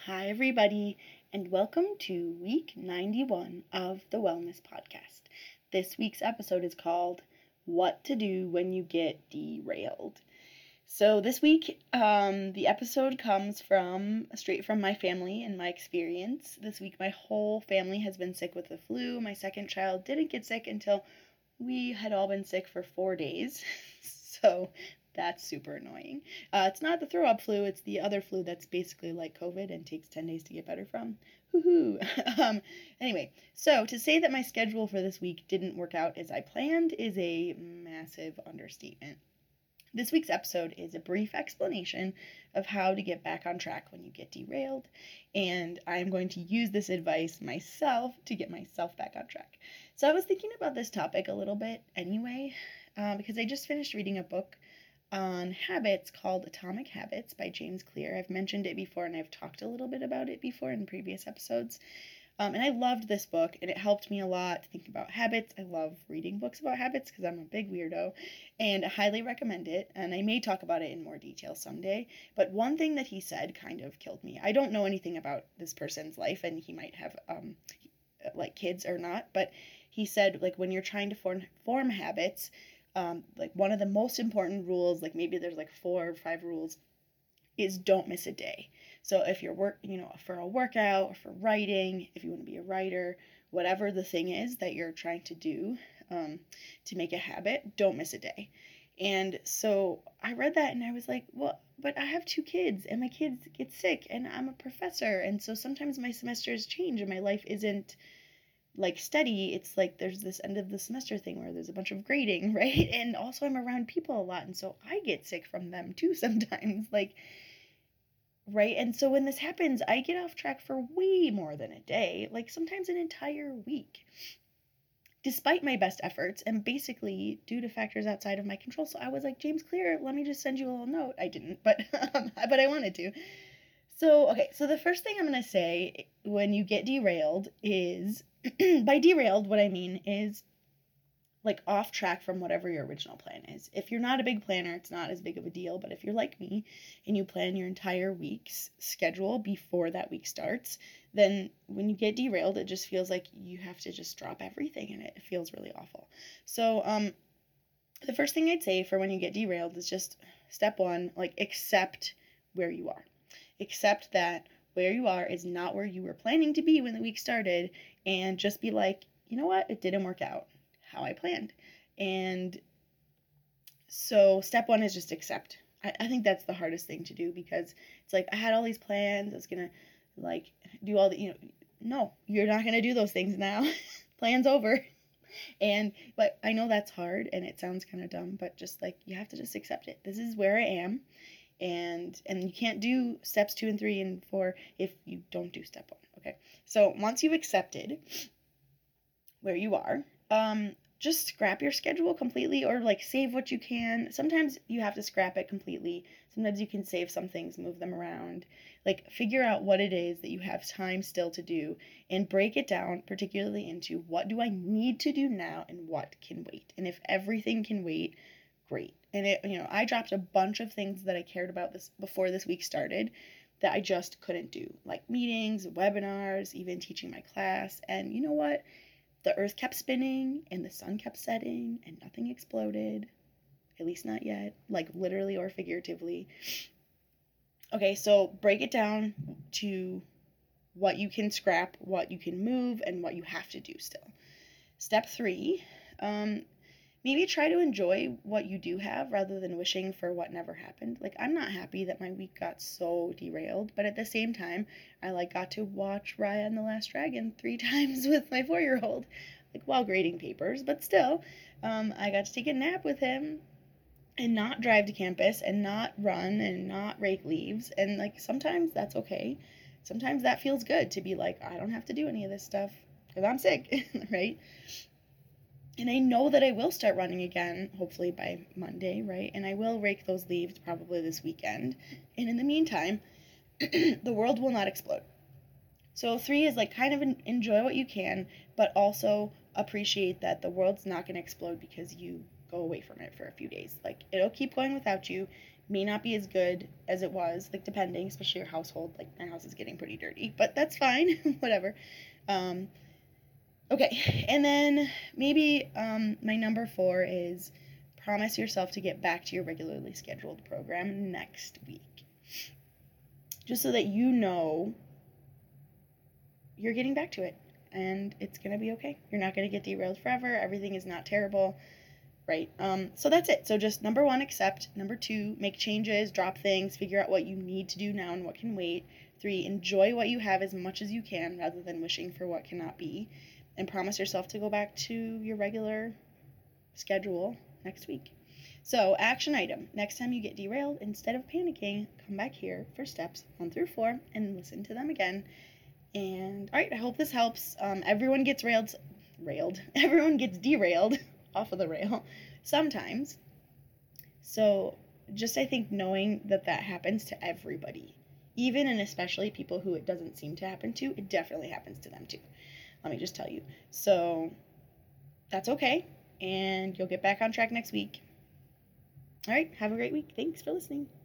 Hi, everybody, and welcome to week 91 of the Wellness Podcast. This week's episode is called What to Do When You Get Derailed. So, this week, the episode comes straight from my family and my experience. This week, my whole family has been sick with the flu. My second child didn't get sick until we had all been sick for 4 days. So, that's super annoying. It's not the throw up flu, it's the other flu that's basically like COVID and takes 10 days to get better from. Woohoo! Anyway, so to say that my schedule for this week didn't work out as I planned is a massive understatement. This week's episode is a brief explanation of how to get back on track when you get derailed, and I'm going to use this advice myself to get myself back on track. So I was thinking about this topic a little bit anyway, because I just finished reading a book on habits called Atomic Habits by James Clear. I've mentioned it before and I've talked a little bit about it before in previous episodes. And I loved this book and it helped me a lot to think about habits. I love reading books about habits because I'm a big weirdo and I highly recommend it. And I may talk about it in more detail someday. But one thing that he said kind of killed me. I don't know anything about this person's life and he might have like kids or not. But he said like when you're trying to form habits, like one of the most important rules, like maybe there's like 4 or 5 rules, is don't miss a day. So if you're for a workout or for writing, if you want to be a writer, whatever the thing is that you're trying to do to make a habit, don't miss a day. And so I read that and I was like, well, but I have 2 kids and my kids get sick and I'm a professor. And so sometimes my semesters change and my life isn't like steady. It's like there's this end of the semester thing where there's a bunch of grading, right? And also I'm around people a lot and so I get sick from them too sometimes, like, right? And so when this happens, I get off track for way more than a day, like sometimes an entire week, despite my best efforts and basically due to factors outside of my control. So I was like, James Clear, let me just send you a little note. I didn't, but but I wanted to. So okay, so the first thing I'm going to say when you get derailed is by derailed, what I mean is like off track from whatever your original plan is. If you're not a big planner, it's not as big of a deal, but if you're like me and you plan your entire week's schedule before that week starts, then when you get derailed, it just feels like you have to just drop everything and it feels really awful. So, the first thing I'd say for when you get derailed is just step 1, like accept where you are. Accept that where you are is not where you were planning to be when the week started, and just be like, you know what, it didn't work out how I planned. And so step 1 is just accept. I think that's the hardest thing to do because it's like I had all these plans. I was gonna like do all the no, you're not gonna do those things now. Plan's over. But I know that's hard and it sounds kind of dumb, but just like you have to just accept it. This is where I am, and you can't do steps 2 and 3 and 4 if you don't do step 1. Okay, so once you've accepted where you are, just scrap your schedule completely or like save what you can. Sometimes you have to scrap it completely. Sometimes you can save some things, move them around. Like figure out what it is that you have time still to do and break it down particularly into what do I need to do now and what can wait. And if everything can wait, great. And I dropped a bunch of things that I cared about this before this week started that I just couldn't do, like meetings, webinars, even teaching my class. And you know what? The earth kept spinning and the sun kept setting and nothing exploded. At least not yet, like literally or figuratively. Okay, so break it down to what you can scrap, what you can move, and what you have to do still. Step 3, maybe try to enjoy what you do have rather than wishing for what never happened. Like, I'm not happy that my week got so derailed, but at the same time, I got to watch Raya and the Last Dragon 3 times with my 4-year-old, like while grading papers, but still, I got to take a nap with him and not drive to campus and not run and not rake leaves, and like sometimes that's okay. Sometimes that feels good to be like, I don't have to do any of this stuff because I'm sick, right? And I know that I will start running again, hopefully by Monday, right? And I will rake those leaves probably this weekend. And in the meantime, the world will not explode. So 3 is like kind of enjoy what you can, but also appreciate that the world's not going to explode because you go away from it for a few days. Like it'll keep going without you. may not be as good as it was, like depending, especially your household. Like my house is getting pretty dirty, but that's fine. Whatever. Okay, and then maybe my number 4 is promise yourself to get back to your regularly scheduled program next week. Just so that you know you're getting back to it and it's going to be okay. You're not going to get derailed forever. Everything is not terrible, right? So that's it. So just number 1, accept. Number 2, make changes, drop things, figure out what you need to do now and what can wait. 3, enjoy what you have as much as you can rather than wishing for what cannot be. And promise yourself to go back to your regular schedule next week. So, action item. Next time you get derailed, instead of panicking, come back here for steps 1 through 4 and listen to them again. And, all right, I hope this helps. Everyone gets everyone gets derailed off of the rail sometimes. So, just I think knowing that happens to everybody, even and especially people who it doesn't seem to happen to, it definitely happens to them too. Let me just tell you. So, that's okay. And you'll get back on track next week. All right, have a great week. Thanks for listening.